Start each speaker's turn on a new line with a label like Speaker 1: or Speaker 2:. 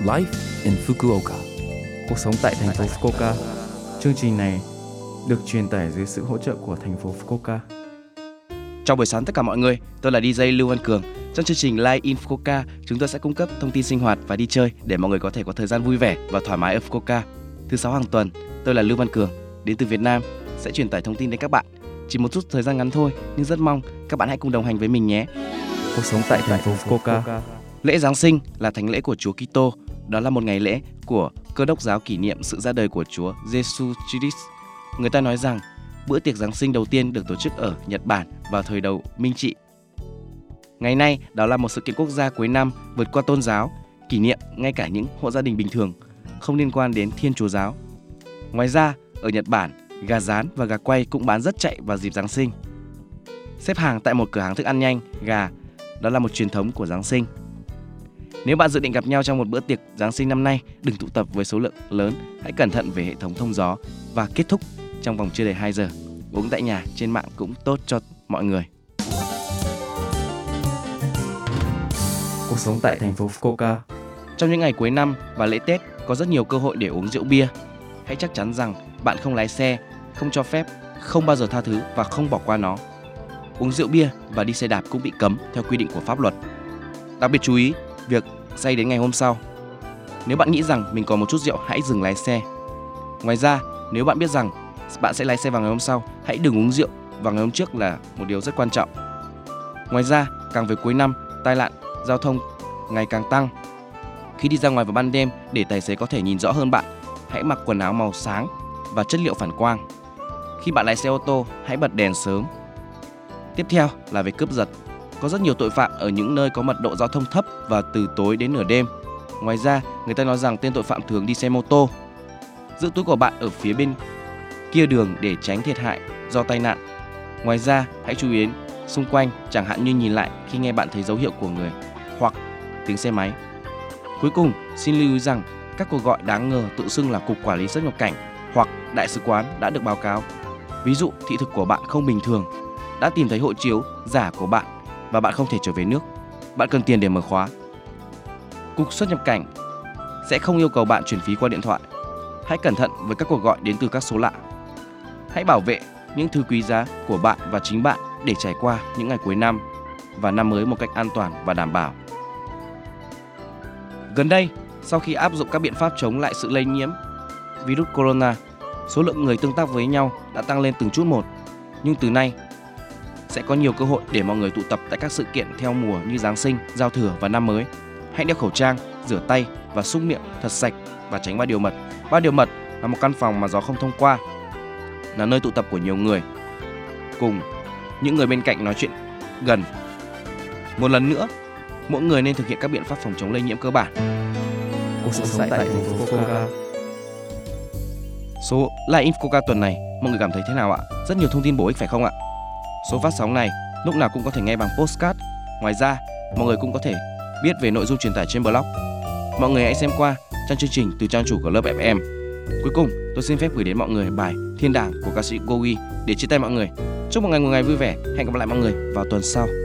Speaker 1: Life in Fukuoka. Cuộc sống tại thành phố Fukuoka. Chương trình này được truyền tải dưới sự hỗ trợ của thành phố Fukuoka.
Speaker 2: Chào buổi sáng tất cả mọi người, tôi là DJ Lưu Văn Cường. Trong chương trình Live in Fukuoka, chúng tôi sẽ cung cấp thông tin sinh hoạt và đi chơi để mọi người có thể có thời gian vui vẻ và thoải mái ở Fukuoka. Thứ 6 hàng tuần, tôi là Lưu Văn Cường, đến từ Việt Nam, sẽ truyền tải thông tin đến các bạn. Chỉ một chút thời gian ngắn thôi, nhưng rất mong các bạn hãy cùng đồng hành với mình nhé.
Speaker 1: Cuộc sống tại thành phố Fukuoka.
Speaker 2: Lễ Giáng sinh là thánh lễ của Chúa Kitô. Đó là một ngày lễ của Cơ đốc giáo kỷ niệm sự ra đời của Chúa Jesus Christ. Người ta nói rằng bữa tiệc Giáng sinh đầu tiên được tổ chức ở Nhật Bản vào thời đầu Minh Trị. Ngày nay, đó là một sự kiện quốc gia cuối năm vượt qua tôn giáo, kỷ niệm ngay cả những hộ gia đình bình thường, không liên quan đến Thiên Chúa giáo. Ngoài ra, ở Nhật Bản, gà rán và gà quay cũng bán rất chạy vào dịp Giáng sinh. Xếp hàng tại một cửa hàng thức ăn nhanh, gà, đó là một truyền thống của Giáng sinh. Nếu bạn dự định gặp nhau trong một bữa tiệc Giáng sinh năm nay, đừng tụ tập với số lượng lớn, hãy cẩn thận về hệ thống thông gió và kết thúc trong vòng chưa đầy 2 giờ. Uống tại nhà, trên mạng cũng tốt cho mọi người.
Speaker 1: Cuộc sống tại thành phố Fukuoka.
Speaker 2: Trong những ngày cuối năm và lễ Tết có rất nhiều cơ hội để uống rượu bia. Hãy chắc chắn rằng bạn không lái xe, không cho phép, không bao giờ tha thứ và không bỏ qua nó. Uống rượu bia và đi xe đạp cũng bị cấm theo quy định của pháp luật. Đặc biệt chú ý việc say đến ngày hôm sau. Nếu bạn nghĩ rằng mình còn một chút rượu, hãy dừng lái xe. Ngoài ra, nếu bạn biết rằng bạn sẽ lái xe vào ngày hôm sau, hãy đừng uống rượu vào ngày hôm trước là một điều rất quan trọng. Ngoài ra, càng về cuối năm, tai nạn giao thông ngày càng tăng. Khi đi ra ngoài vào ban đêm để tài xế có thể nhìn rõ hơn bạn, hãy mặc quần áo màu sáng và chất liệu phản quang. Khi bạn lái xe ô tô, hãy bật đèn sớm. Tiếp theo là về cướp giật. Có rất nhiều tội phạm ở những nơi có mật độ giao thông thấp và từ tối đến nửa đêm. Ngoài ra, người ta nói rằng tên tội phạm thường đi xe mô tô. Giữ túi của bạn ở phía bên kia đường để tránh thiệt hại do tai nạn. Ngoài ra, hãy chú ý đến xung quanh, chẳng hạn như nhìn lại khi nghe bạn thấy dấu hiệu của người hoặc tiếng xe máy. Cuối cùng, xin lưu ý rằng các cuộc gọi đáng ngờ tự xưng là Cục Quản lý xuất nhập cảnh hoặc Đại sứ quán đã được báo cáo. Ví dụ, thị thực của bạn không bình thường, đã tìm thấy hộ chiếu giả của bạn và bạn không thể trở về nước. Bạn cần tiền để mở khóa. Cục xuất nhập cảnh sẽ không yêu cầu bạn chuyển phí qua điện thoại. Hãy cẩn thận với các cuộc gọi đến từ các số lạ. Hãy bảo vệ những thứ quý giá của bạn và chính bạn để trải qua những ngày cuối năm và năm mới một cách an toàn và đảm bảo. Gần đây, sau khi áp dụng các biện pháp chống lại sự lây nhiễm virus corona, số lượng người tương tác với nhau đã tăng lên từng chút một. Nhưng từ nay, sẽ có nhiều cơ hội để mọi người tụ tập tại các sự kiện theo mùa như Giáng sinh, Giao thừa và năm mới. Hãy đeo khẩu trang, rửa tay và súc miệng thật sạch và tránh ba điều mật. Ba điều mật là một căn phòng mà gió không thông qua, là nơi tụ tập của nhiều người, cùng những người bên cạnh nói chuyện gần. Một lần nữa, mỗi người nên thực hiện các biện pháp phòng chống lây nhiễm cơ bản.
Speaker 1: Cuộc sống tại thành phố Fukuoka.
Speaker 2: Số Live in Fukuoka tuần này, mọi người cảm thấy thế nào ạ? Rất nhiều thông tin bổ ích phải không ạ? Số phát sóng này lúc nào cũng có thể nghe bằng podcast. Ngoài ra, mọi người cũng có thể biết về nội dung truyền tải trên blog. Mọi người hãy xem qua trang chương trình từ trang chủ của Love FM. Cuối cùng, tôi xin phép gửi đến mọi người bài Thiên Đàng của ca sĩ Gogi để chia tay mọi người. Chúc một ngày vui vẻ. Hẹn gặp lại mọi người vào tuần sau.